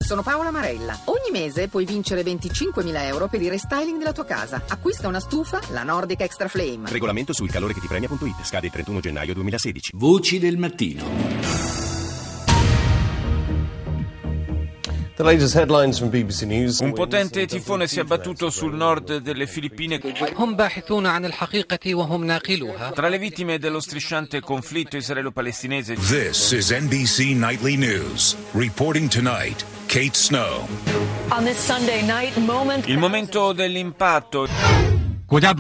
sono Paola Marella. Ogni mese puoi vincere 25.000 euro per il restyling della tua casa. Acquista una stufa, la Nordic Extra Flame. Regolamento sul calore che ti premia.it. Scade il 31 gennaio 2016. Voci del mattino. Un potente tifone si è abbattuto sul nord delle Filippine. Tra le vittime dello strisciante conflitto israelo-palestinese. This is NBC Nightly News. Reporting tonight, Kate Snow. On this Sunday night moment. Il momento dell'impatto. La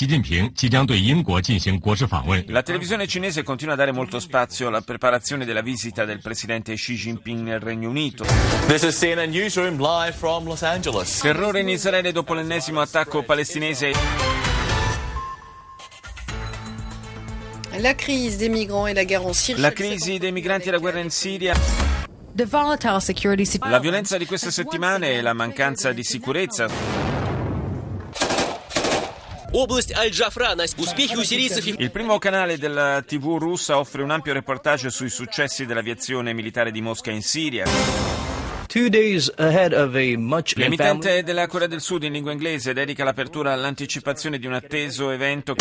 televisione cinese continua a dare molto spazio alla preparazione della visita del presidente Xi Jinping nel Regno Unito. This is CNN Newsroom live from Los Angeles. Terrore in Israele dopo l'ennesimo attacco palestinese. La crisi dei migranti e la guerra in Siria. La violenza di queste settimane e la mancanza di sicurezza. Il primo canale della TV russa offre un ampio reportage sui successi dell'aviazione militare di Mosca in Siria. L'emittente della Corea del Sud in lingua inglese dedica l'apertura all'anticipazione di un atteso evento.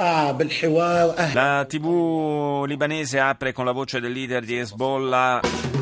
La TV libanese apre con la voce del leader di Hezbollah.